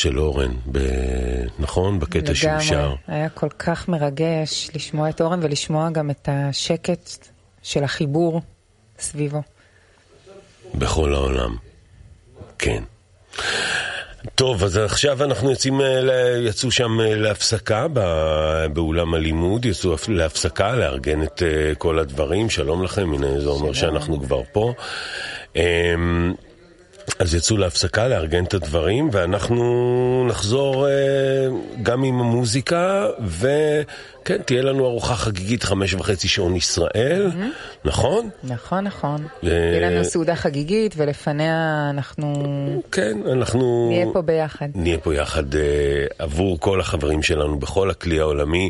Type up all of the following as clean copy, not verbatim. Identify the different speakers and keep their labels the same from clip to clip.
Speaker 1: של אורן, נכון? בקטע שהוא שר.
Speaker 2: היה כל כך מרגש לשמוע את אורן ולשמוע גם את השקט של החיבור סביבו.
Speaker 1: בכל העולם, כן. טוב, אז עכשיו אנחנו יצאו שם להפסקה באולם הלימוד, יצאו להפסקה, לארגן את כל הדברים. שלום לכם, הנה זה אומר שאנחנו כבר פה. אז יצאו להפסקה, לארגן את הדברים, ואנחנו נחזור גם עם המוזיקה, וכן, תהיה לנו ארוחה חגיגית 5:30 שעון ישראל, נכון?
Speaker 2: נכון. תהיה לנו סעודה חגיגית, ולפניה
Speaker 1: כן, אנחנו
Speaker 2: נהיה פה ביחד.
Speaker 1: נהיה פה יחד עבור כל החברים שלנו בכל הכלי העולמי.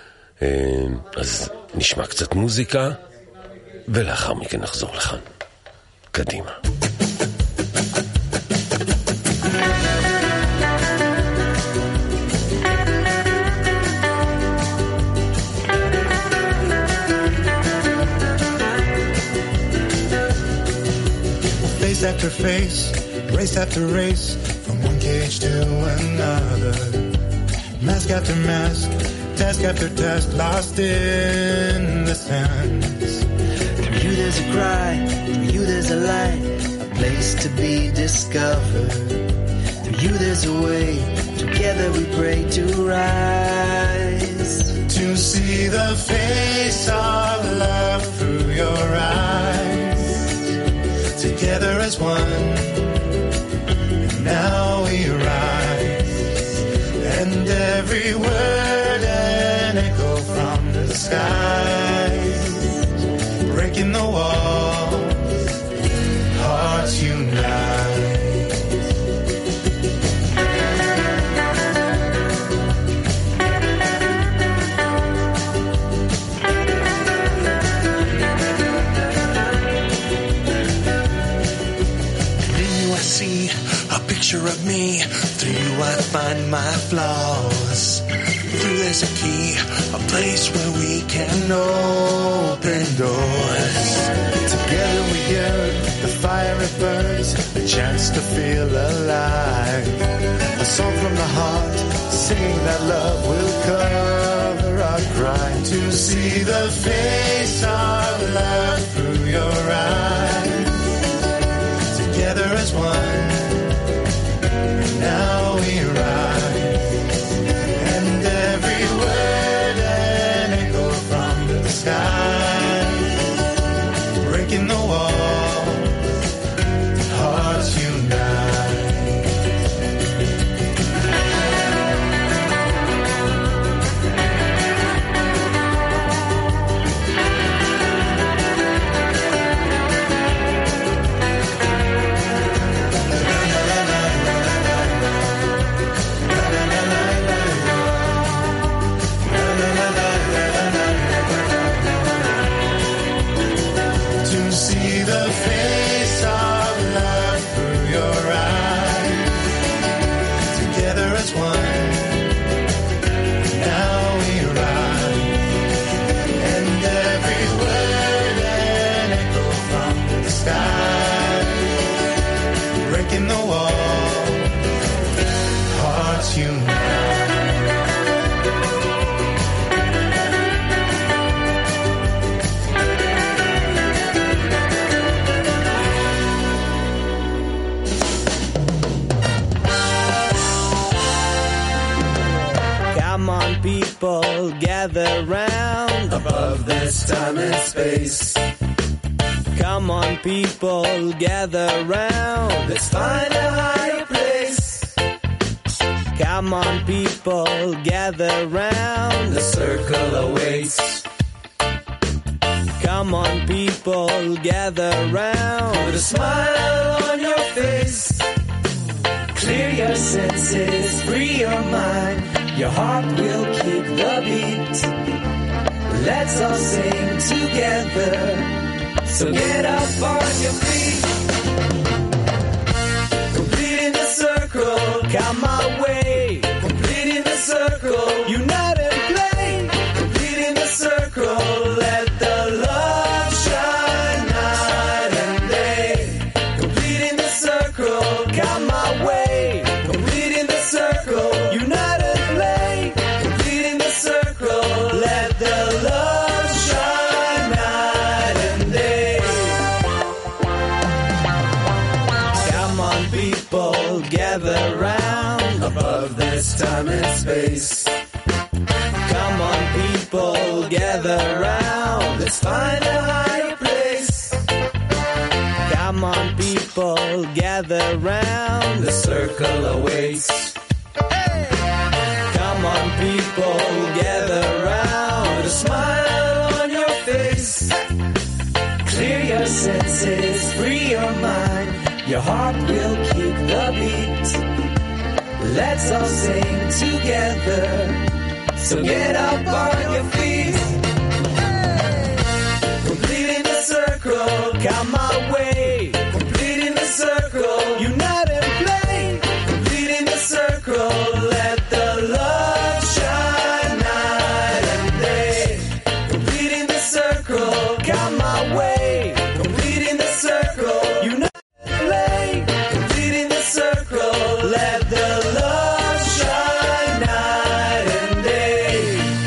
Speaker 1: אז נשמע קצת מוזיקה, ולאחר מכן נחזור לכאן. קדימה.
Speaker 3: Face after face, race after race, from one cage to another. Mask after mask, task after task, lost in the sands.
Speaker 4: Through you there's a cry, through you there's a light, a place to be discovered. Through you there's a way, together we pray to rise.
Speaker 3: To see the face of love through your eyes. Together as one, and now we rise, and every word an echo from the skies, breaking the walls, hearts unite.
Speaker 4: Picture of me, through you I find my flaws. Through there's a key, a place where we can open doors.
Speaker 3: Together we hear the fire it burns, a chance to feel alive. A song from the heart, singing that love will cover our crime. To see the face of love through your eyes. Together as one. Now we rise, and every word an echo from the sky, breaking the wall, hearts unite.
Speaker 4: People gather round
Speaker 3: above this time and space.
Speaker 4: Come on, people, gather round.
Speaker 3: Let's find a higher place.
Speaker 4: Come on, people, gather round.
Speaker 3: The circle awaits.
Speaker 4: Come on, people, gather round.
Speaker 3: Put a smile on your face.
Speaker 4: Clear your senses, free your mind. Your heart will keep the beat. Let's all sing together. So get up on your feet. Completing the circle, come my way. Completing the circle, unite and play. Completing the circle, let the love shine night and day. Completing the circle, come my way. Completing the circle. of this time and space. Come on, people, gather round. Let's find a higher place. Come on, people, gather round. The circle awaits. Come on, people, gather round. A smile on your face. Clear your senses, free your mind. Your heart will keep the beat. Let's all sing together. So get up on your feet. Completing the circle, come my way. Completing the circle, unite and play. Completing the circle, let the love shine night and day. Completing the circle, come my way. Completing the circle, unite and play. Completing the circle, let the love shine night and day.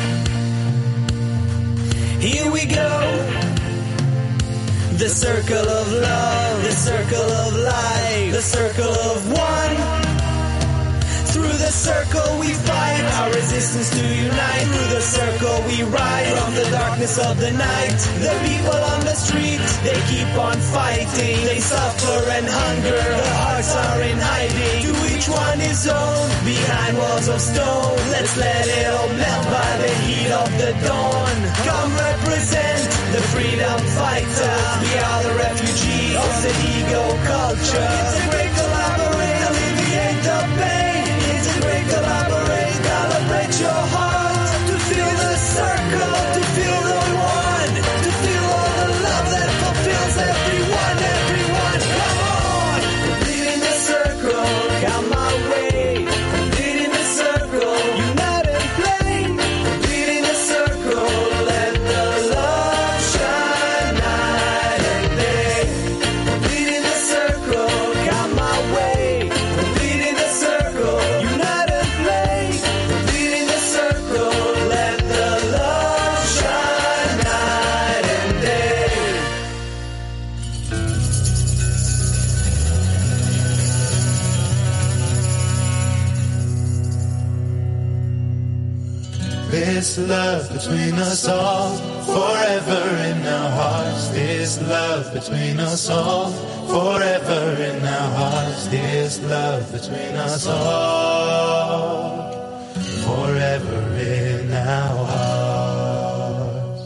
Speaker 4: Here we go. The circle of love, the circle of life, the circle of one. Through the circle we fight, our resistance to unite. Through the circle we rise from the darkness of the night. The people on the street, they keep on fighting. They suffer and hunger, their hearts are in hiding. To each one his own, behind walls of stone. Let's let it all melt by the heat of the dawn. Come represent the freedom fighters. We are the refugees of the ego culture. Integrate, collaborate, alleviate the pain. Integrate, collaborate, calibrate your heart. To feel the circle, to feel the one. To feel all the love that fulfills everyone, everyone. Come on! Completing the circle, come my way. Completing the circle, unite and play. Completing the circle, let the love shine night and day. Completing the circle, come my way. Completing the circle, unite and play. Completing the circle, let the love shine night and day.
Speaker 3: This love between us all, forever in our hearts. This love between us all, forever in our hearts. This love between us all, forever in our hearts.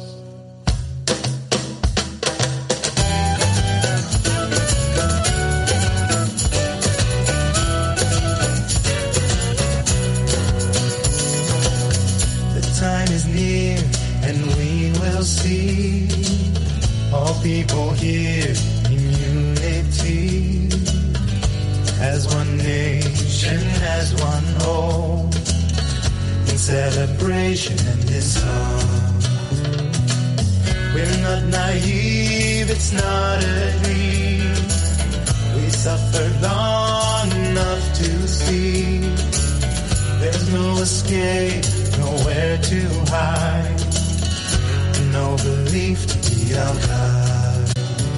Speaker 3: The time is near and we will see all people here in unity, as one nation, as one home, in celebration and in song. We're not naive, it's not a dream. We suffered long enough to see there's no escape, nowhere to hide, no belief to be our God.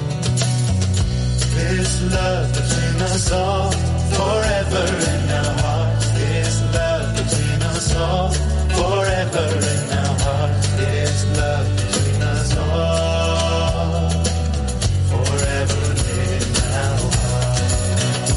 Speaker 3: This love between us all, forever in our hearts. This love between us all, forever in our hearts. This love between us all, forever in our hearts.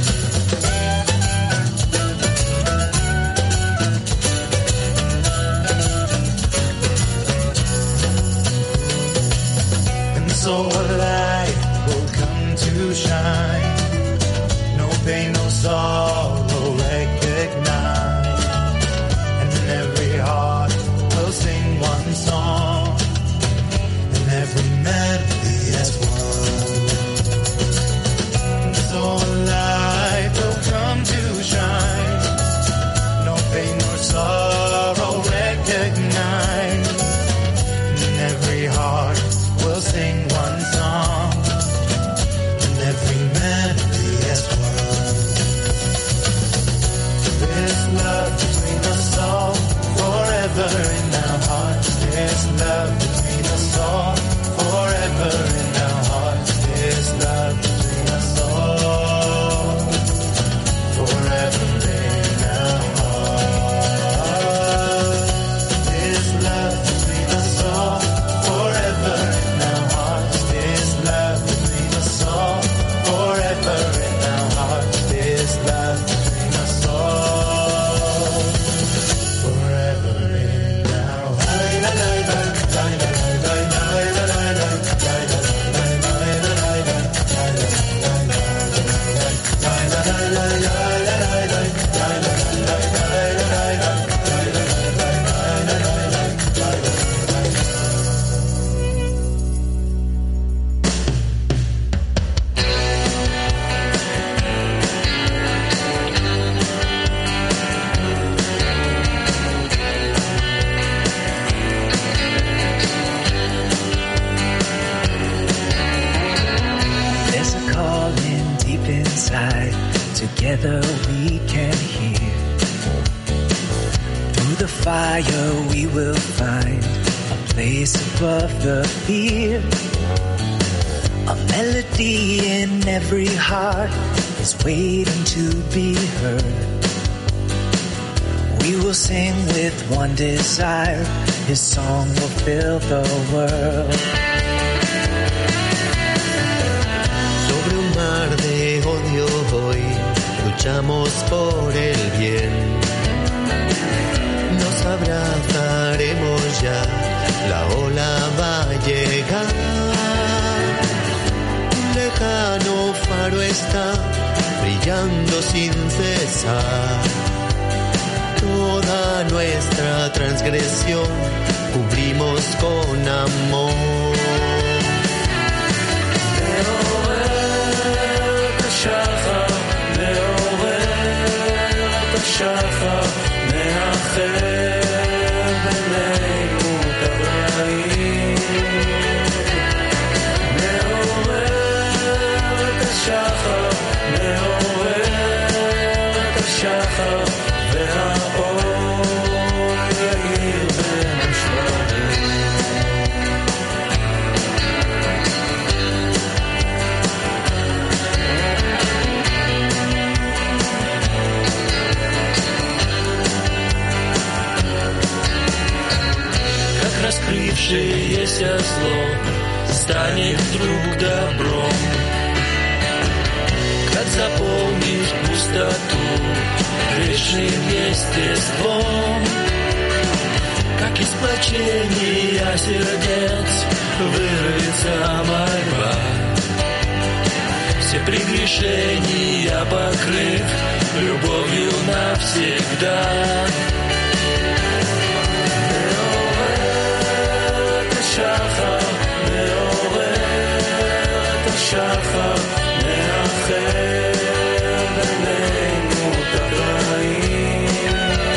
Speaker 3: And so a light will come to shine. No pain, no sorrow recognize. And every heart will sing one song, and every melody as one. And so a light will come to shine. No pain, no sorrow recognize. And every heart will sing one song, and every melody as one. This love between us all, forever in our hearts. This love between us all, forever in our hearts. This love between us all, forever in our hearts.
Speaker 4: the fire we will find a place above the fear. A melody in every heart is waiting to be heard. We will sing with one desire, His song will fill the world.
Speaker 5: Sobre un mar de odio hoy luchamos por el bien. Nos abrazaremos ya, la ola va a llegar. Un lejano faro está brillando sin cesar. Toda nuestra transgresión cubrimos con amor.
Speaker 4: שחר מאחר בינינו את הרעים, מעורר את השחר, מעורר את השחר, והאור יאיר בין השברים. Раскрывшееся зло станет вдруг добром, как заполнить пустоту грешным естеством, как из плачения сердец вырвется мольба, все прегрешения покрыв любовью навсегда. שחר מעורר את השחר, מאחר בינינו את הרעים,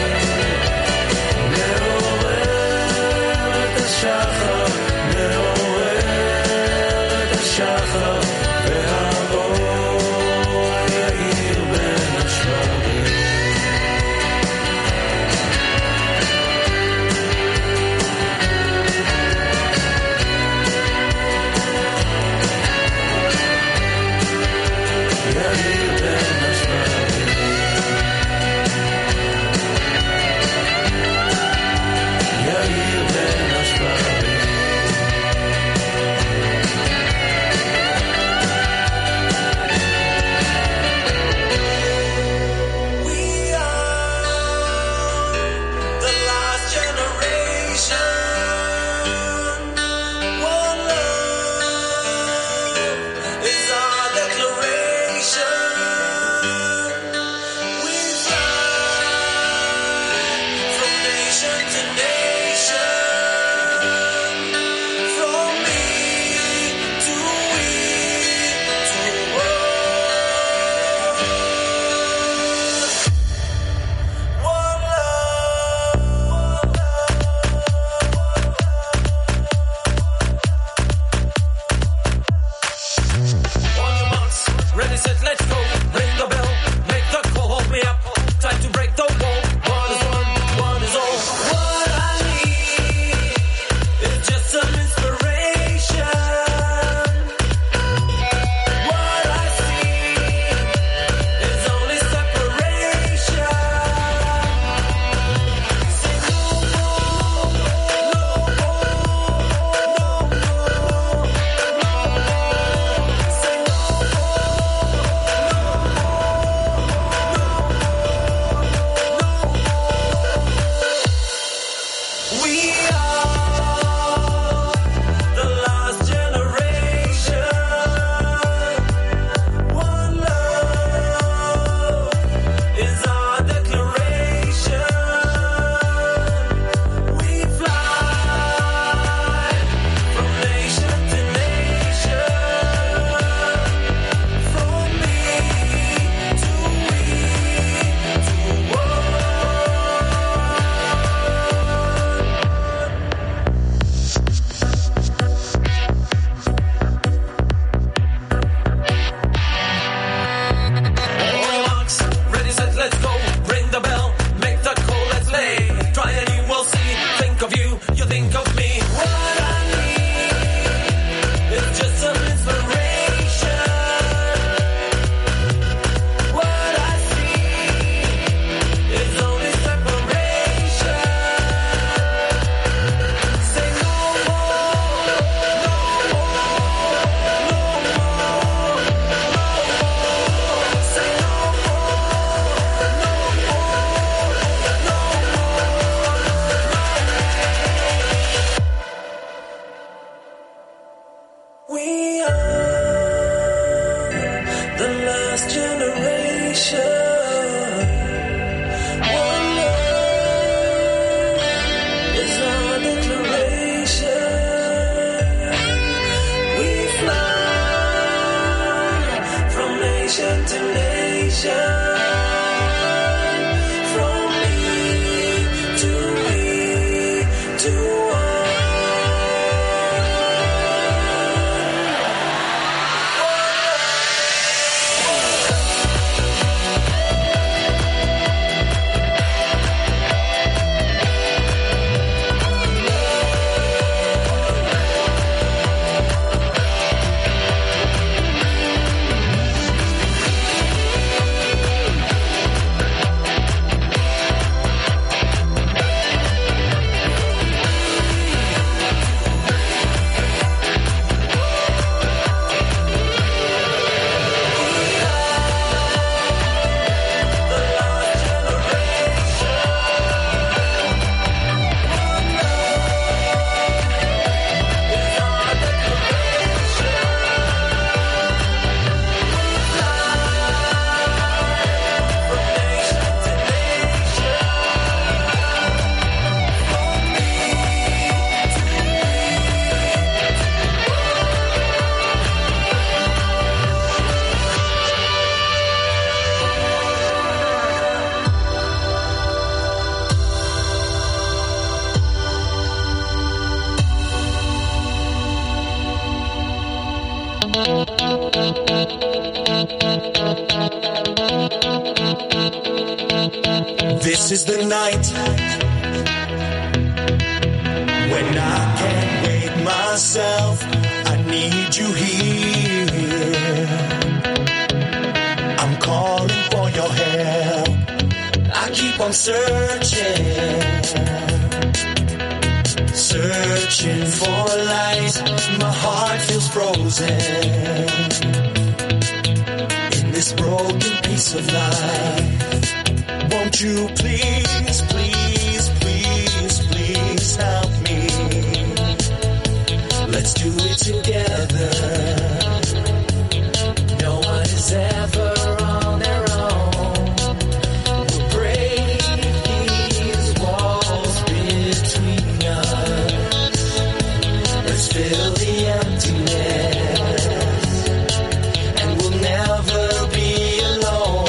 Speaker 4: מעורר את השחר, מעורר את השחר, והאור יאיר בין השברים.
Speaker 3: This is the night when I can't wait myself. I need you here. I'm calling for your help. I keep on searching for light. My heart feels frozen in this broken piece of life. Won't you please, please, please, please help me? Let's do it together. No one is ever on their own. We'll break these walls between us. Let's fill the emptiness, and we'll never be alone.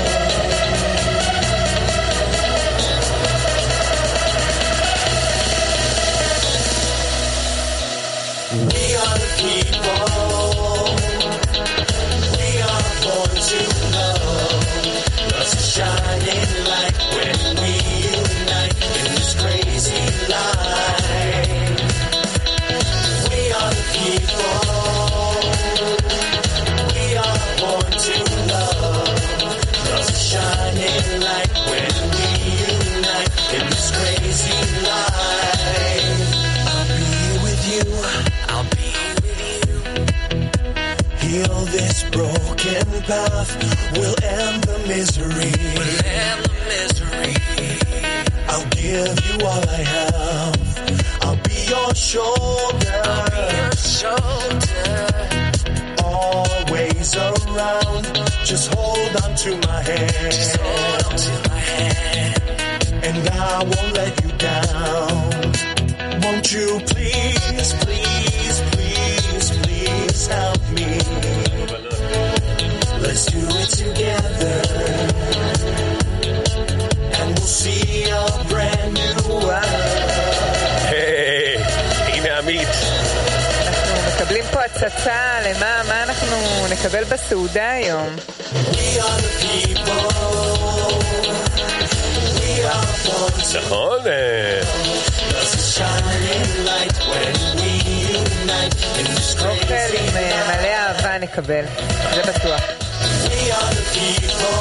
Speaker 3: We are the people. We are born to love. Love's a shining light when we unite in this crazy life. We are the people. We are born to love. Love's a shining light when we unite in this crazy life. I'll be with you. I'll be with you. Heal this broken path. We'll end the misery. We'll end the misery. I'll give you all I have. I'll be your shoulder. I'll be your shoulder. Always around. Just hold on to my hand. Just hold on to my hand. And I won't let you down. Won't you please, please, please, please help me? Let's do it together, and we'll see a brand new world.
Speaker 1: היי, הנה עמית.
Speaker 2: אנחנו מקבלים פה הצצה מה אנחנו נקבל בסעודה היום.
Speaker 3: We are the people. We are born to
Speaker 1: נכון?
Speaker 3: There's a shining light when we unite in this
Speaker 2: אוכל
Speaker 3: crazy
Speaker 2: עם מלא אהבה נקבל, זה בטוח.
Speaker 3: We are the people.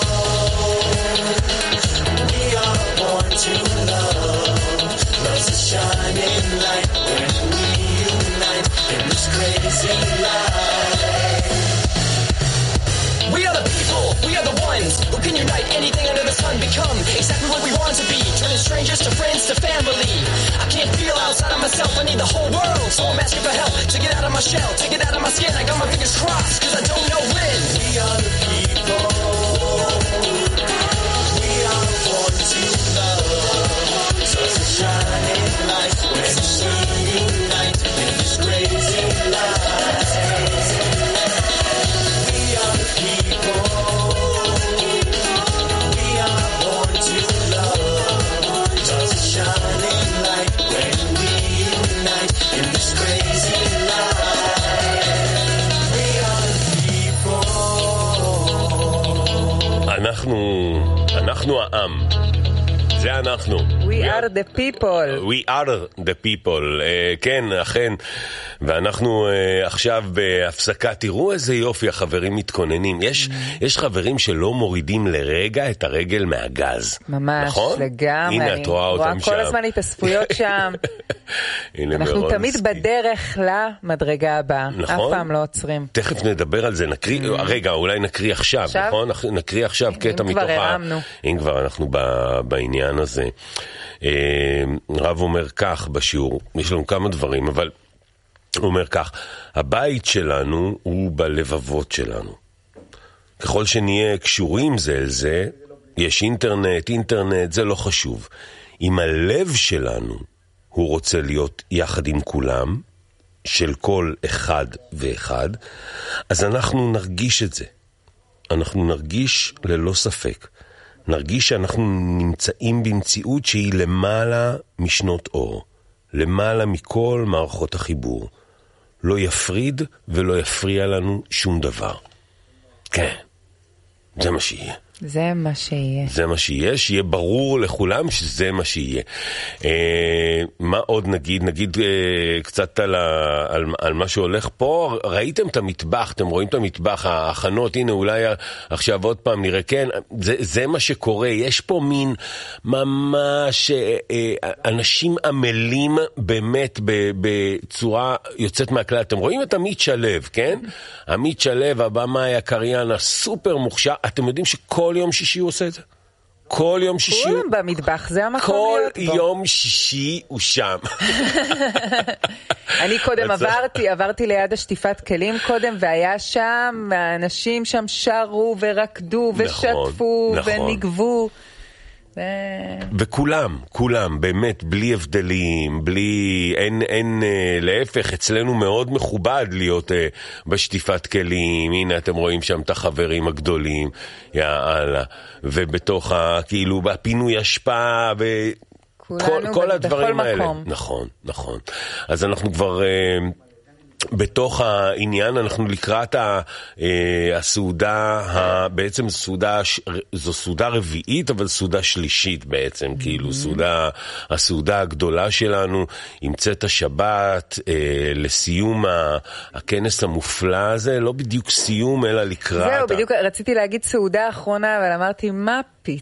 Speaker 3: We are born to love. Love's a shining light when we unite in this crazy life.
Speaker 6: We are the people, we are the ones who can unite anything under the sun, become exactly what we want to be, turning strangers to friends to family. I can't feel outside of myself, I need the whole world, so I'm asking for help to get out of my shell, to get out of my skin. I got my fingers crossed, cause I don't know when.
Speaker 3: We are the people. We are born to love. Such a shining light when we unite in this crazy life. We are the people. We are born to love. Such a shining light when we unite in this crazy life. We are the people.
Speaker 1: אנחנו העם. זה אנחנו.
Speaker 2: We are the people.
Speaker 1: We are the people. כן, אכן. ואנחנו עכשיו בהפסקה. תראו איזה יופי, החברים מתכוננים. יש חברים שלא מורידים לרגע את הרגל מהגז.
Speaker 2: ממש,
Speaker 1: נכון?
Speaker 2: לגמרי.
Speaker 1: הנה, את רואה אותם שם.
Speaker 2: כל הזמן התאספויות שם. אנחנו תמיד בדרך למדרגה הבאה.
Speaker 1: נכון?
Speaker 2: אף פעם לא עוצרים.
Speaker 1: תכף נדבר על זה. רגע, אולי נקריא עכשיו, נכון? נקריא עכשיו קטע מתוך אם כבר אנחנו בעניין הזה. רב אומר כך בשיעור, יש לנו כמה דברים, אבל הוא אומר כך, הבית שלנו הוא בלבבות שלנו. ככל שנהיה קשורים זה אל זה, יש אינטרנט, זה לא חשוב. אם הלב שלנו הוא רוצה להיות יחד עם כולם, של כל אחד ואחד, אז אנחנו נרגיש את זה. אנחנו נרגיש ללא ספק. נרגיש שאנחנו נמצאים במציאות שהיא למעלה משנות אור. למעלה מכל מערכות החיבור. לא יפריד ולא יפריע לנו שום דבר. כן. זה מה שיהיה.
Speaker 2: זה מה שיהיה.
Speaker 1: זה מה שיהיה, שיהיה ברור לכולם שזה מה שיהיה. מה עוד נגיד קצת על מה שהולך פה, ראיתם את המטבח, אתם רואים את המטבח, ההכנות, הנה אולי עכשיו עוד פעם נראה, כן, זה מה שקורה, יש פה מין ממש אנשים עמלים באמת בצורה יוצאת מהכלל, אתם רואים את עמית שלו, כן? עמית שלו, הבמאי הקריין הסופר מוכשר, אתם יודעים שכל יום שישי הוא עושה את זה? כל יום שישי.
Speaker 2: כולם במטבח, זה המקום להיות בו.
Speaker 1: כל יום שישי הוא שם.
Speaker 2: אני קודם עברתי ליד השטיפת כלים קודם, והיה שם, האנשים שם שרו ורקדו ושתפו ונגבו.
Speaker 1: וכולם, באמת, בלי הבדלים, אין, להפך, אצלנו מאוד מכובד להיות בשטיפת כלים, הנה אתם רואים שם את החברים הגדולים, יאללה, ובתוך כאילו, בפינוי השפעה, כל הדברים האלה. נכון. אז אנחנו כבר בתוך העניין, אנחנו לקראת הסעודה, בעצם זו סעודה רביעית, אבל סעודה שלישית בעצם, כאילו הסעודה הגדולה שלנו, עם צאת השבת, לסיום הכנס המופלא הזה, לא בדיוק סיום, אלא לקראת.
Speaker 2: זהו, בדיוק רציתי להגיד סעודה האחרונה, אבל אמרתי, מה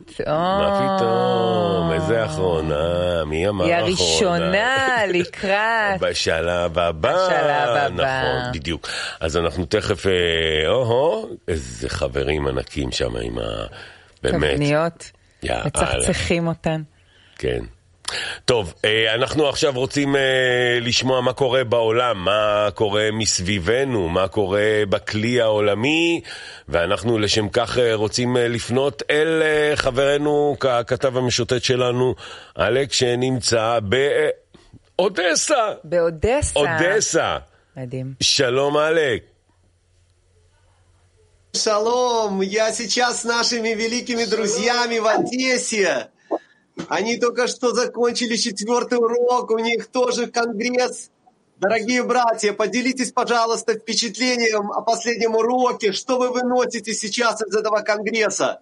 Speaker 2: פתאום,
Speaker 1: איזה האחרונה, מי אמר האחרונה?
Speaker 2: היא הראשונה לקראת.
Speaker 1: בשלב הבא. נכון, בדיוק. אז אנחנו תכף, איזה חברים ענקים שם עם באמת.
Speaker 2: תבניות, מצחצחים אותן.
Speaker 1: כן. טוב, אנחנו עכשיו רוצים לשמוע מה קורה בעולם, מה קורה מסביבנו, מה קורה בכלי העולמי, ואנחנו לשם כך רוצים לפנות אל חברנו, הכתב המשוטט שלנו, אלק, שנמצא באודסה. אודסה.
Speaker 2: מדהים.
Speaker 1: שלום אלק.
Speaker 7: Шалом, я сейчас с нашими великими друзьями в Одессе. Они только что закончили 4-й урок, у них тоже конгресс. Дорогие братья, поделитесь, пожалуйста, впечатлением о последнем уроке. Что вы выносите сейчас из этого конгресса?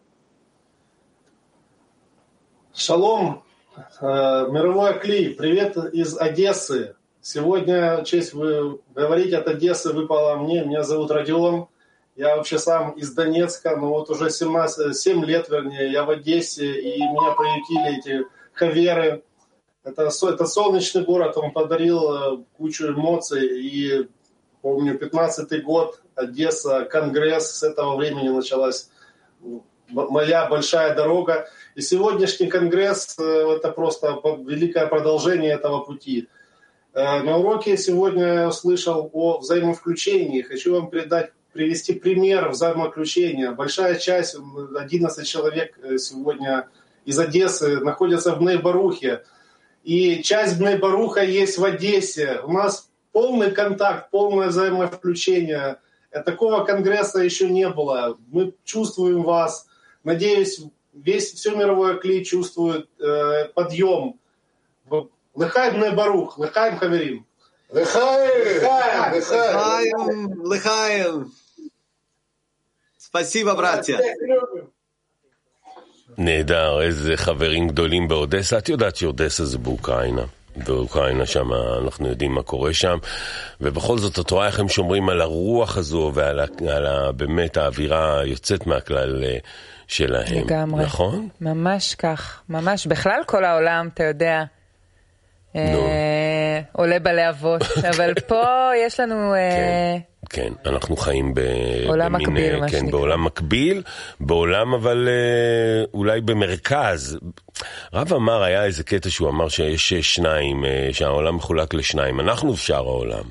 Speaker 8: Шалом, мировой клей, привет из Одессы. Сегодня честь говорить от Одессы выпала мне. Меня зовут Родион. Я вообще сам из Донецка, но вот уже 7 лет, вернее, я в Одессе, и меня приютили эти хаверы. Это солнечный город, он подарил кучу эмоций, и помню, 15-й год, Одесса, конгресс, с этого времени началась моя большая дорога. И сегодняшний конгресс – это просто великое продолжение этого пути. На уроке сегодня я услышал о взаимовключении. Хочу вам привести пример взаимоключения. Большая часть, 11 человек сегодня из Одессы находятся в Бней-Барухе. И часть Бней-Баруха есть в Одессе. У нас полный контакт, полное взаимовключение. Такого конгресса еще не было. Мы чувствуем вас. Надеюсь, все мировое клей чувствует подъем. Лыхаем Бней-Барух, лыхаем хаверим.
Speaker 7: Лыхаем. Спасибо, братья.
Speaker 1: נהדר, איזה חברים גדולים באודסה. את יודעת שאודסה זה באוקראינה. באוקראינה שם אנחנו יודעים מה קורה שם. ובכל זאת את רואה איך הם שומרים על הרוח הזו ועל באמת האווירה יוצאת מהכלל שלהם.
Speaker 2: לגמרי.
Speaker 1: נכון?
Speaker 2: ממש כך. ממש. בכלל כל העולם, אתה יודע, עולה בלהבות. אבל פה יש לנו...
Speaker 1: כן, אנחנו חיים
Speaker 2: בעולם מקביל, מה שנקרא.
Speaker 1: בעולם מקביל, בעולם אבל אולי במרכז. רב אמר, היה איזה קטע שהוא אמר שיש שניים, שהעולם מחולק לשניים, אנחנו ושאר העולם.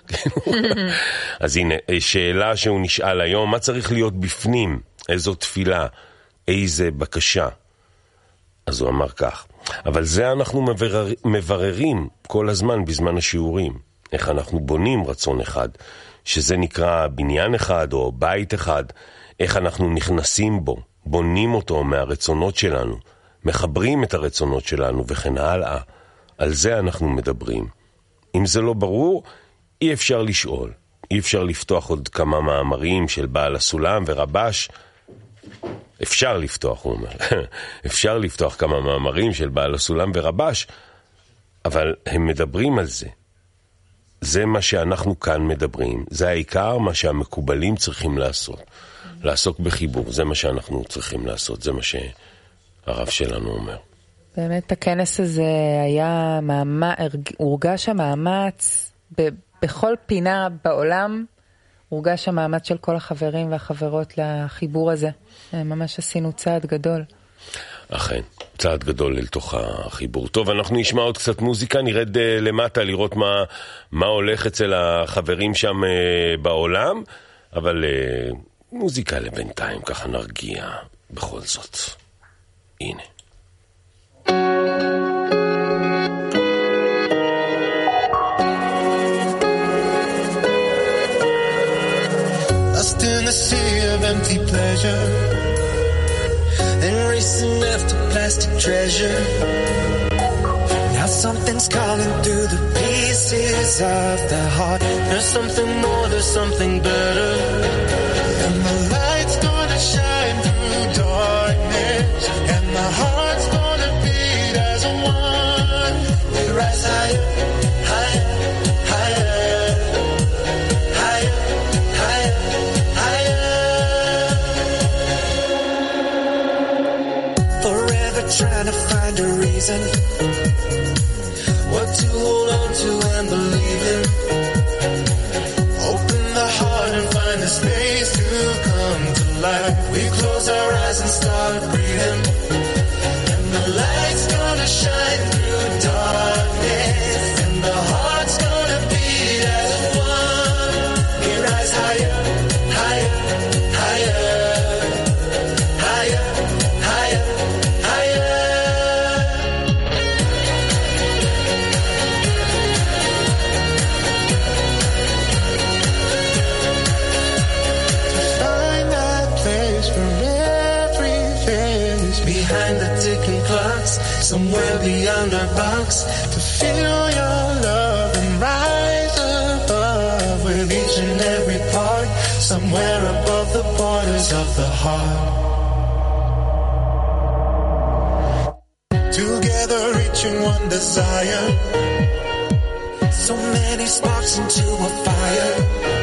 Speaker 1: אז הנה, שאלה שהוא נשאל היום, מה צריך להיות בפנים? איזו תפילה? איזה בקשה? אז הוא אמר כך, אבל זה אנחנו מבררים כל הזמן בזמן השיעורים. איך אנחנו בונים רצון אחד, שזה נקרא בניין אחד או בית אחד, איך אנחנו נכנסים בו, בונים אותו מהרצונות שלנו, מחברים את הרצונות שלנו וכן הלאה. על זה אנחנו מדברים. אם זה לא ברור, אי אפשר לשאול. אי אפשר לפתוח עוד כמה מאמרים של בעל הסולם ורבש. אפשר לפתוח, הוא אומר. אפשר לפתוח כמה מאמרים של בעל הסולם ורבש, אבל הם מדברים על זה. זה מה שאנחנו כאן מדברים. זה העיקר מה שהמקובלים צריכים לעשות. לעסוק בחיבור, זה מה שאנחנו צריכים לעשות. זה מה שהרב שלנו אומר.
Speaker 2: באמת הכנס הזה היה הורגש המאמץ בכל פינה בעולם, הורגש המאמץ של כל החברים והחברות לחיבור הזה. ממש עשינו צעד גדול.
Speaker 1: אכן, צעד גדול לתוך החיבור. טוב, אנחנו נשמע עוד קצת מוזיקה, נרד למטה לראות מה הולך אצל החברים שם בעולם, אבל מוזיקה לבינתיים, ככה נרגיע בכל זאת. הנה.
Speaker 3: Lost in the sea of empty pleasure, then racing after plastic treasure. Now something's calling through the pieces of the heart. There's something more, there's something better. And the light's gonna shine through darkness, and the heart's gonna beat as one. We rise higher, higher, higher, higher, higher, higher. Forever trying to find a reason, what to hold on to and believe in. Open the heart and find the space to come to life. We close our eyes and start breathing, and the light's gonna shine through darkness, and the heart's gonna beat as one. We rise higher, higher, higher, higher, higher, higher. Find that place for every face behind the ticking clocks, somewhere beyond our box, to feel your love and rise above with each and every part, somewhere above the borders of the heart. Together reaching one desire, so many sparks into a fire.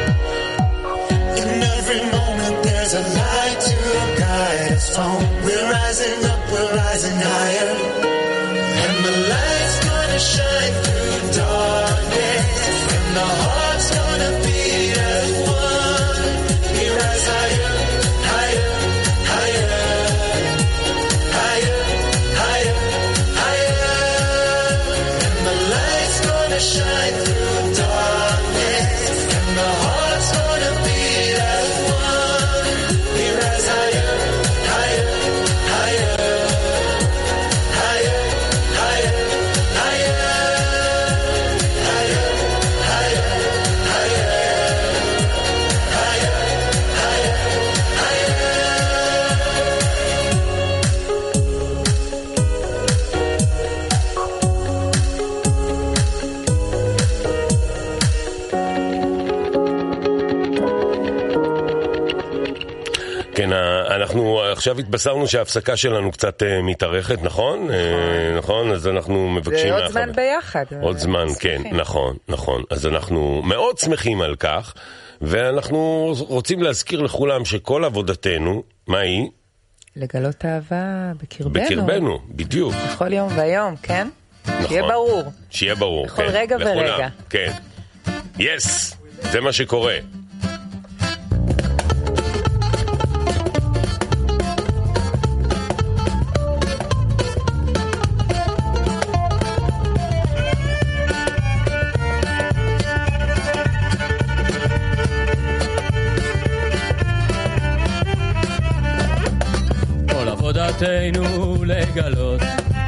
Speaker 3: In every moment there's a light to guide us home. We're rising up, we're rising higher, and the light's gonna shine through darkness, and the heart's gonna beat as one. We rise higher, higher, higher, higher, higher, higher, and the light's gonna shine through darkness, and the heart's gonna beat as one. We rise higher, higher, higher, higher, higher, higher, higher, higher, higher, higher, higher, higher.
Speaker 1: כן, אנחנו עכשיו התבשרנו שההפסקה שלנו קצת מתארכת, נכון? נכון, אז אנחנו מבקשים...
Speaker 2: זה עוד זמן ביחד.
Speaker 1: עוד זמן, כן, נכון, נכון. אז אנחנו מאוד שמחים על כך, ואנחנו רוצים להזכיר לכולם שכל עבודתנו, מה היא?
Speaker 2: לגלות אהבה בקרבנו.
Speaker 1: בקרבנו, בדיוק.
Speaker 2: בכל יום ויום, כן?
Speaker 1: נכון.
Speaker 2: שיהיה ברור.
Speaker 1: שיהיה ברור,
Speaker 2: בכל
Speaker 1: כן.
Speaker 2: רגע
Speaker 1: לכולם,
Speaker 2: ורגע.
Speaker 1: כן. יס, זה מה שקורה.
Speaker 9: עבודתנו לגלות,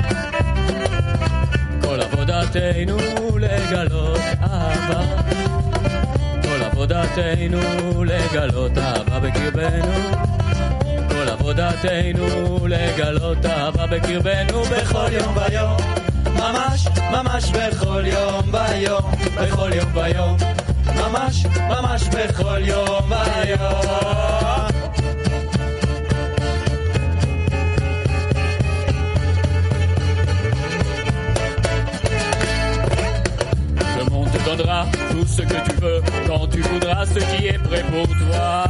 Speaker 9: כל עבודתנו לגלות אהבה, כל עבודתנו לגלות אהבה בקרבנו, כל עבודתנו לגלות אהבה בקרבנו בכל יום ויום, ממש ממש בכל יום ויום, בכל יום ויום, ממש ממש בכל יום ויום. ce que tu veux, quand tu voudras ce qui est prêt pour toi.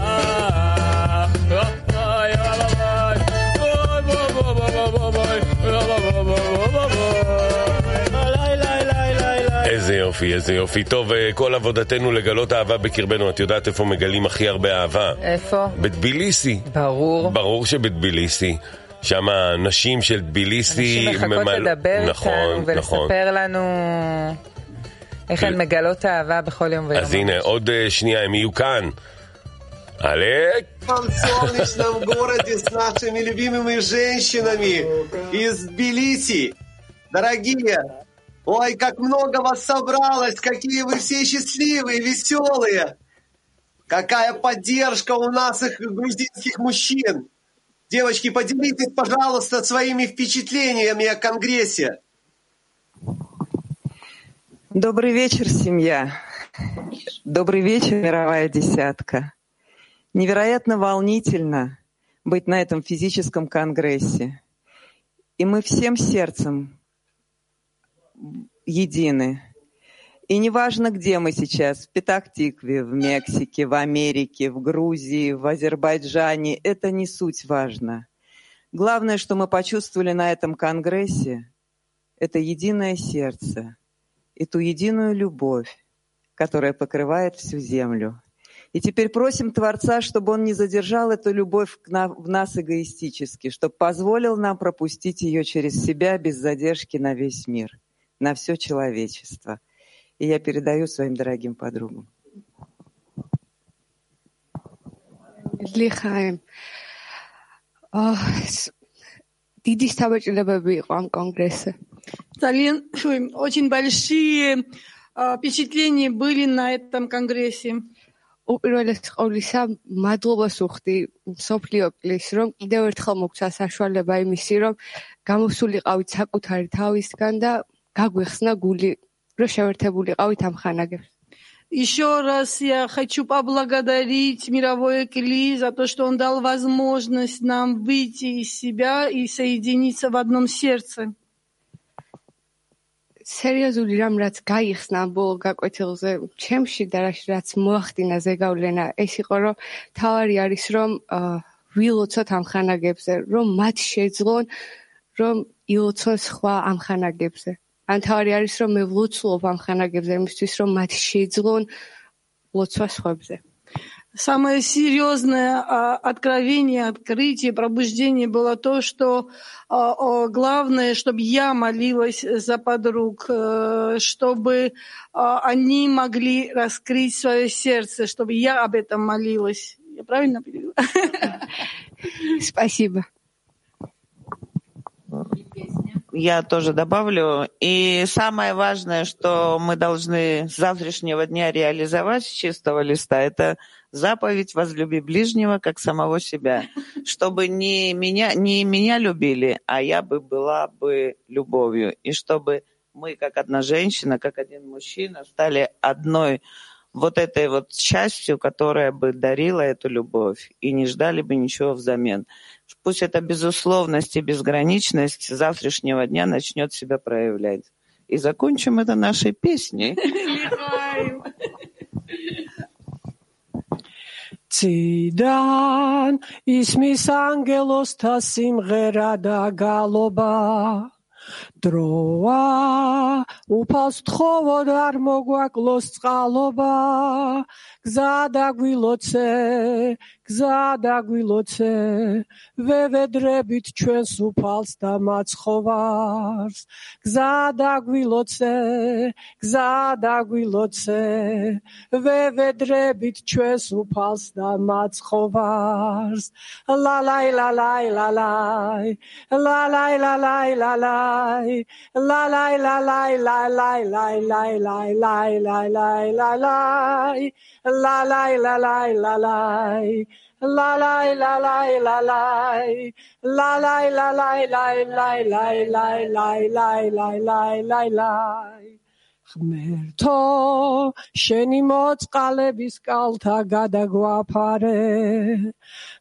Speaker 1: איזה יופי, איזה יופי. טוב, כל עבודתנו לגלות אהבה בקרבנו. את יודעת איפה מגלים הכי הרבה אהבה?
Speaker 2: איפה?
Speaker 1: בטביליסי.
Speaker 2: ברור.
Speaker 1: ברור שבטביליסי. שם נשים של טביליסי...
Speaker 2: נשים מחכות לדבר איתנו ולספר לנו איך הן מגלות אהבה בכל יום ויום.
Speaker 1: אז הנה, עוד שנייה, הם יהיו כאן. Олег!
Speaker 7: В солнечном городе с нашими любимыми женщинами из Тбилиси. Дорогие, ой, как много вас собралось, какие вы все счастливые, веселые. Какая поддержка у наших грузинских мужчин. Девочки, поделитесь, пожалуйста, своими впечатлениями о Конгрессе.
Speaker 10: Добрый вечер, семья. Добрый вечер, мировая десятка. Невероятно волнительно быть на этом физическом конгрессе. И мы всем сердцем едины. И неважно, где мы сейчас, в Петах-Тикве, в Мексике, в Америке, в Грузии, в Азербайджане, это не суть важно. Главное, что мы почувствовали на этом конгрессе, это единое сердце и ту единую любовь, которая покрывает всю землю. И теперь просим Творца, чтобы Он не задержал эту любовь в нас эгоистически, чтобы позволил нам пропустить ее через себя без задержки на весь мир, на все человечество. И я передаю своим дорогим подругам.
Speaker 11: Лихаем. Დიდი საბჭოებები იყო ამ კონგრესზე.
Speaker 12: Очень большие впечатления были на этом конгрессе.
Speaker 11: უპირველეს ყოვლისა, მადლობას ვუხდი მსოფლიოს, რომ კიდევ ერთხელ მოგცა საშუალება იმისი, რომ გამოსულიყავით საკუთარი თავისგან და გაგვეხსნა გული, რომ შევერთებულიყავით ამ ხანაგებს.
Speaker 12: Еще раз я хочу поблагодарить мировой ЭКЛИ за то, что он дал возможность нам выйти из себя и соединиться в одном сердце.
Speaker 11: სერიოზული რამ რაც გაიხსნა ბოლო გაკვეთილზე ჩემში და რაც მოახდინა ზეგავლენა ეს იყო რომ თავარი არის რომ ვილოცოთ ამ ხანაგებზე რომ მათ შეძლონ რომ ილოცონ სხვა ამ ხანაგებზე ან თავარი არის რომ მე ვლოცულობ ამ ხანაგებზე იმისთვის რომ მათ შეძლონ ლოცვა სხვებზე.
Speaker 12: Самое серьезное откровение, открытие, пробуждение было то, что главное, чтобы я молилась за подруг, чтобы они могли раскрыть свое сердце, чтобы я об этом молилась. Я правильно перевела?
Speaker 11: Спасибо.
Speaker 10: Я тоже добавлю. И самое важное, что мы должны с завтрашнего дня реализовать с чистого листа, это заповедь «Возлюби ближнего, как самого себя». Чтобы не меня любили, а я бы была бы любовью. И чтобы мы, как одна женщина, как один мужчина, стали одной вот этой вот частью, которая бы дарила эту любовь, и не ждали бы ничего взамен. Пусть эта безусловность и безграничность с завтрашнего дня начнет себя проявлять. И закончим это нашей песней.
Speaker 13: Цიდან ისმის ანგელოსთა სიმღერა და გალობა დროა უფალს თხოვოდ არ მოგვაკლოს წყალობა გზა დაგვილოცე ვევედრებით ჩვენს უფალს და მაცხოვარს გზა დაგვილოცე ვევედრებით ჩვენს უფალს და მაცხოვარს ლალაი ლალაი ლალაი ლალაი ლალაი ლალაი ლალაი ლალაი ლალაი ლალაი ლალაი ლალაი ლალაი La la la la la la la la la la la la la la la la la la la la ღმერთო შენი მოწყალების კალთა გადაგვაფარე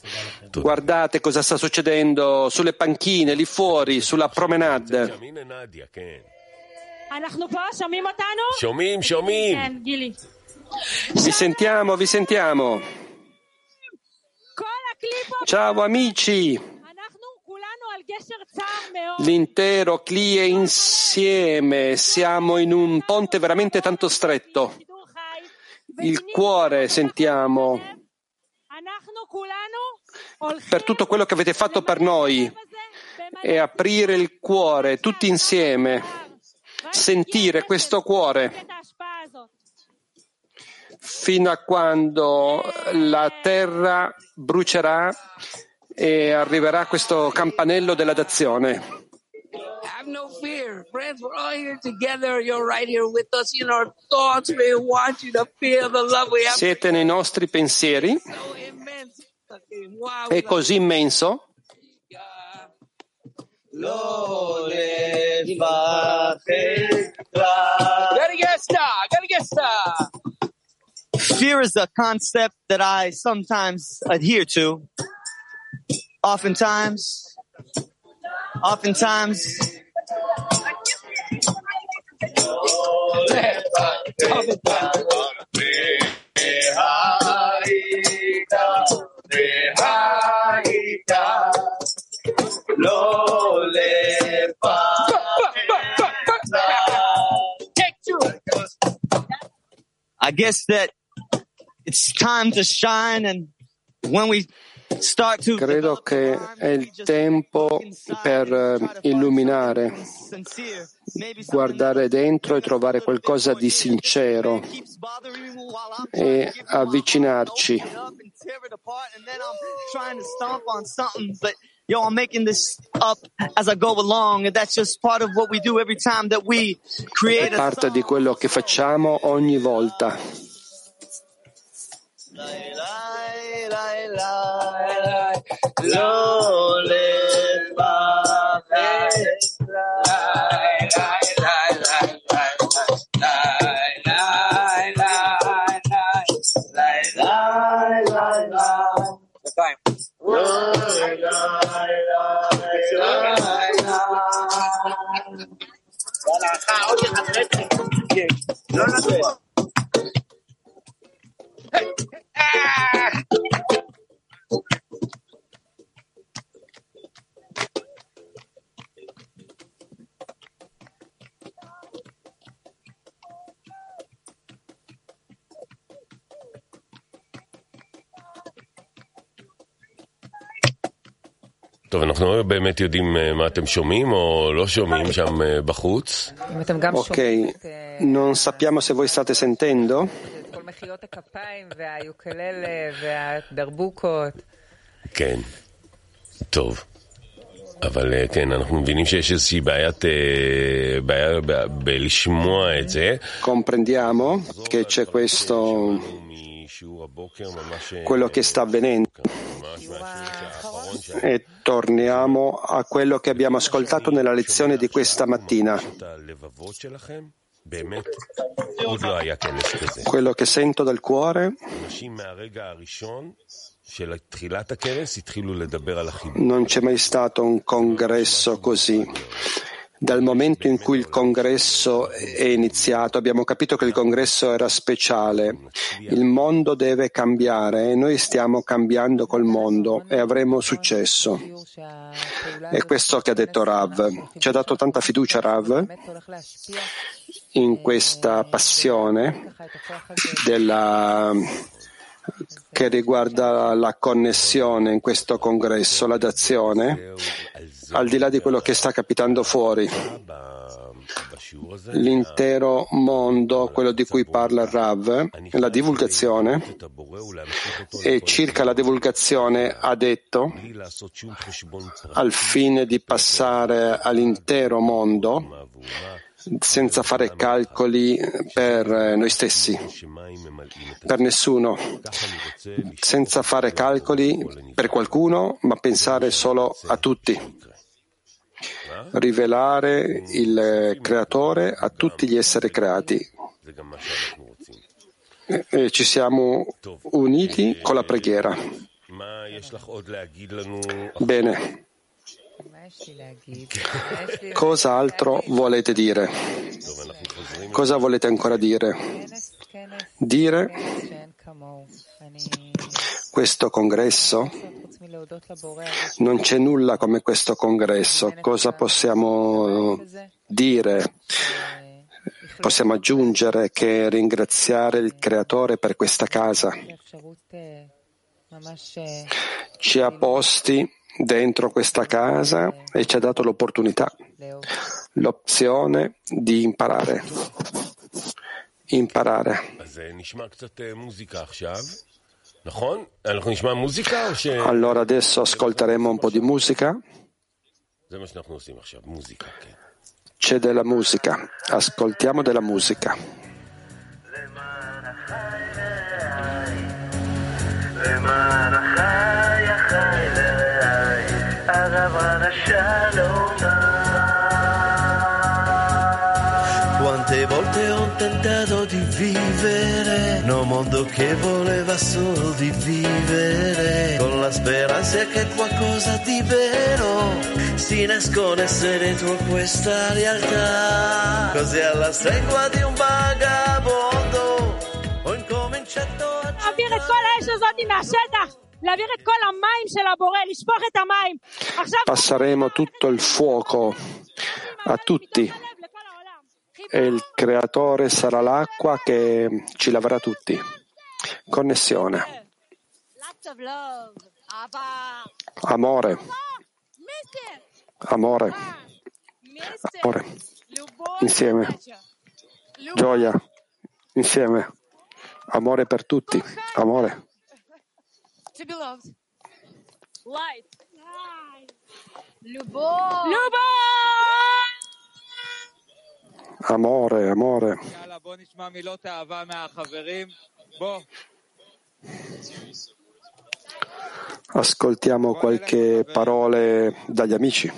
Speaker 14: Guardate cosa sta succedendo sulle panchine, lì fuori, sulla promenade.
Speaker 1: שומעים.
Speaker 14: Vi sentiamo, vi sentiamo. Ciao amici. L'intero CLI è insieme, siamo in un ponte veramente tanto stretto. Il cuore sentiamo per tutto quello che avete fatto per noi e aprire il cuore tutti insieme, sentire questo cuore fino a quando la terra brucerà e arriverà questo campanello della dazione.
Speaker 15: Have no fear, friends. We're all here together. You're right here with us in our thoughts. We want you to feel the love we have.
Speaker 14: Siete nei nostri pensieri. È così immenso.
Speaker 16: Fear is a concept that I sometimes adhere to. Oftentimes. I guess that it's time to shine, and when we
Speaker 14: credo che è il tempo per illuminare, guardare dentro e trovare qualcosa di sincero e avvicinarci.
Speaker 16: I'm making this up as I go along, and that's just part of what we do every time that we create.
Speaker 14: È parte di quello che facciamo ogni volta.
Speaker 1: טוב, אנחנו באמת יודעים מה אתם שומעים או לא שומעים שם בחוץ.
Speaker 14: Ok, non sappiamo se voi state sentendo.
Speaker 1: כן, טוב. אבל כן, אנחנו מבינים שיש איזושהי בעיה בלשמוע את זה.
Speaker 14: Comprendiamo che c'è quello che sta avvenendo. E torniamo a quello che abbiamo ascoltato nella lezione di questa mattina. Quello che sento dal cuore, non c'è mai stato un congresso così. Dal momento in cui il congresso è iniziato abbiamo capito che il congresso era speciale. Il mondo deve cambiare e noi stiamo cambiando col mondo e avremo successo. È questo che ha detto Rav. Ci ha dato tanta fiducia Rav in questa passione che riguarda la connessione in questo congresso, la dazione, al di là di quello che sta capitando fuori. L'intero mondo, quello di cui parla Rav, la divulgazione, e circa la divulgazione ha detto, al fine di passare all'intero mondo, senza fare calcoli per noi stessi, per nessuno, senza fare calcoli per qualcuno, ma pensare solo a tutti. Rivelare il creatore a tutti gli esseri creati. E ci siamo uniti con la preghiera. Bene. Cosa altro volete dire? Cosa volete ancora dire? Questo congresso? Non c'è nulla come questo congresso. Cosa possiamo dire? Possiamo aggiungere che ringraziare il Creatore per questa casa. Ci ha posti dentro questa casa e ci ha dato l'opportunità, l'opzione di imparare. Allora adesso ascolteremo un po' di musica. C'è della musica, ascoltiamo della musica.
Speaker 5: Quante volte ho tentato di vivere nel mondo che voleva solo di vivere, con la speranza che qualcosa di vero si nascondesse dentro questa realtà. Così alla stregua di un vagabondo ho incominciato a
Speaker 17: להעביר את כל האש הזאת מהשטח, להעביר את כל המים של הבורא, לשפוך את המים.
Speaker 14: Passeremo tutto il fuoco a tutti e il Creatore sarà l'acqua che ci laverà tutti. Connessione. Amore. Amore. Amore. Insieme. Gioia. Insieme. Amore per tutti. Amore.
Speaker 17: To be loved. Light. Любовь.
Speaker 14: Amore, amore. Ascoltiamo qualche parole dagli amici.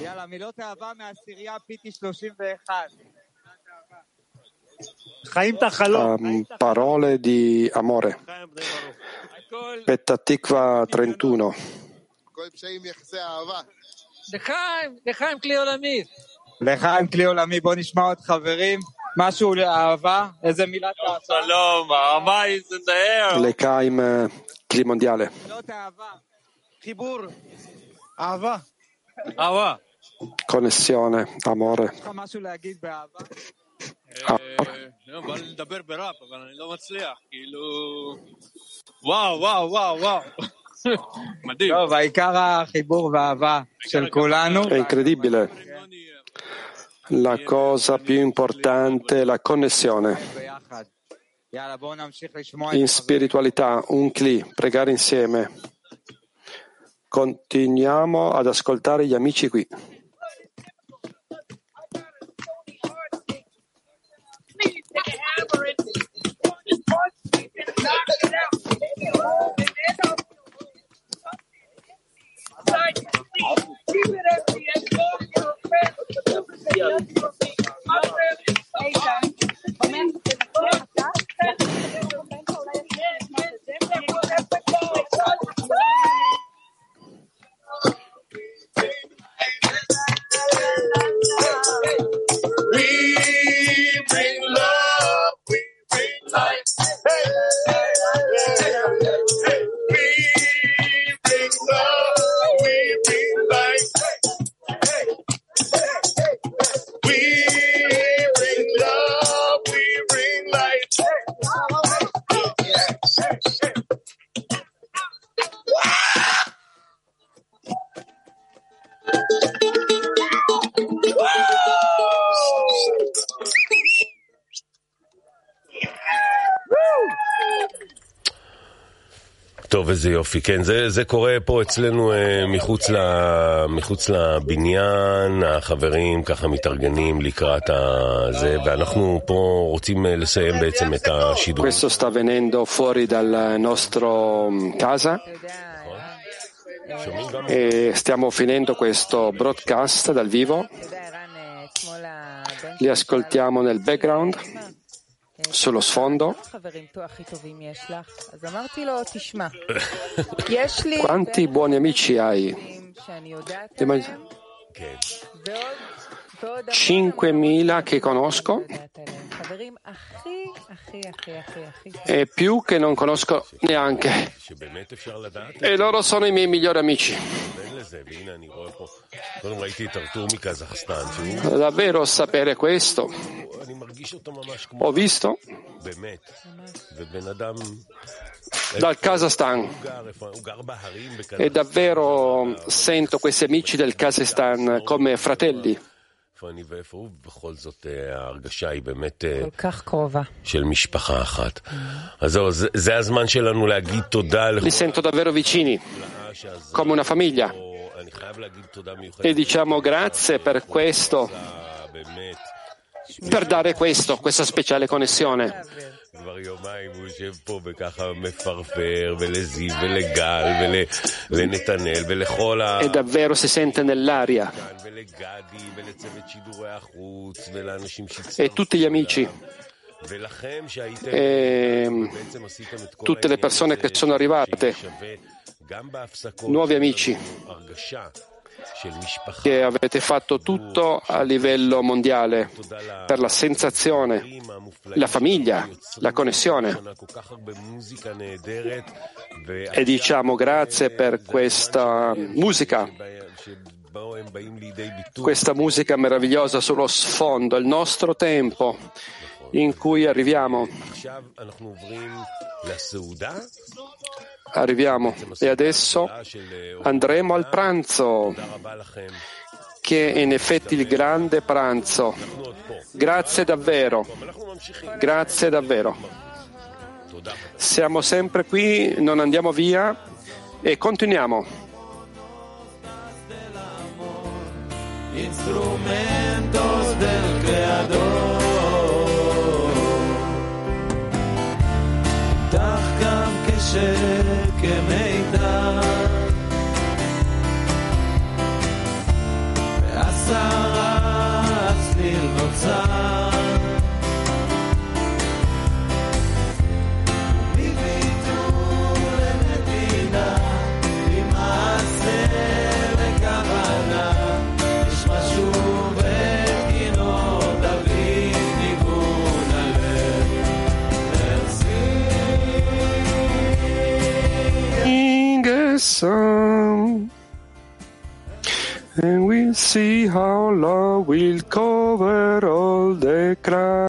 Speaker 14: Parole di amore. Petah Tikva 31.
Speaker 18: לחיים כלי עולמי. לחיים כלי עולמי, בוא נשמע עוד חברים. משהו לאהבה, איזה מילת אהבה? שלום, הרמה is in the air.
Speaker 14: L'Echaim Kli Mondiale.
Speaker 18: מילות אהבה. חיבור. אהבה. אהבה.
Speaker 14: Connessione, amore.
Speaker 18: יש לך משהו להגיד באהבה?
Speaker 9: בא לי לדבר ברap, אבל אני לא מצליח. כאילו... וואו, וואו, וואו, וואו. מדהים.
Speaker 18: טוב, העיקר החיבור והאהבה של כולנו.
Speaker 14: È incredibile. La cosa più importante è la connessione. In spiritualità, un Kli, pregare insieme. Continuiamo ad ascoltare gli amici qui.
Speaker 1: טוב, איזה יופי. כן, זה קורה פה אצלנו מחוץ לבניין, החברים ככה מתארגנים לקראת זה, ואנחנו פה רוצים לסיים בעצם את השידור.
Speaker 14: Questo sta avvenendo fuori dal nostro casa e stiamo finendo questo broadcast dal vivo. Li ascoltiamo nel background. sullo sfondo. Quanti buoni amici hai? 5.000 che conosco e più che non conosco neanche, e loro sono i miei migliori amici. Davvero sapere questo, ho visto dal Kazakistan e davvero sento questi amici del Kazakistan come fratelli. Li sento davvero vicini, come una famiglia, e diciamo grazie per questo, per dare questa speciale connessione. E davvero si sente nell'aria, e tutti gli amici e tutte le persone che sono arrivate, nuovi amici, che avete fatto tutto a livello mondiale per la sensazione, la famiglia, la connessione, e diciamo grazie per questa musica meravigliosa sullo sfondo, il nostro tempo in cui arriviamo e adesso andremo al pranzo, che è in effetti il grande pranzo. Grazie davvero, grazie davvero. Siamo sempre qui, non andiamo via e continuiamo.
Speaker 3: Instrumentos del Creador. כמידע בעשרה צליל נוצר מביטול למדינה ממעשה וכוונה יש משהו בגינו דוד ניגון הלב
Speaker 14: Song, and we'll see how love will cover all the crowd.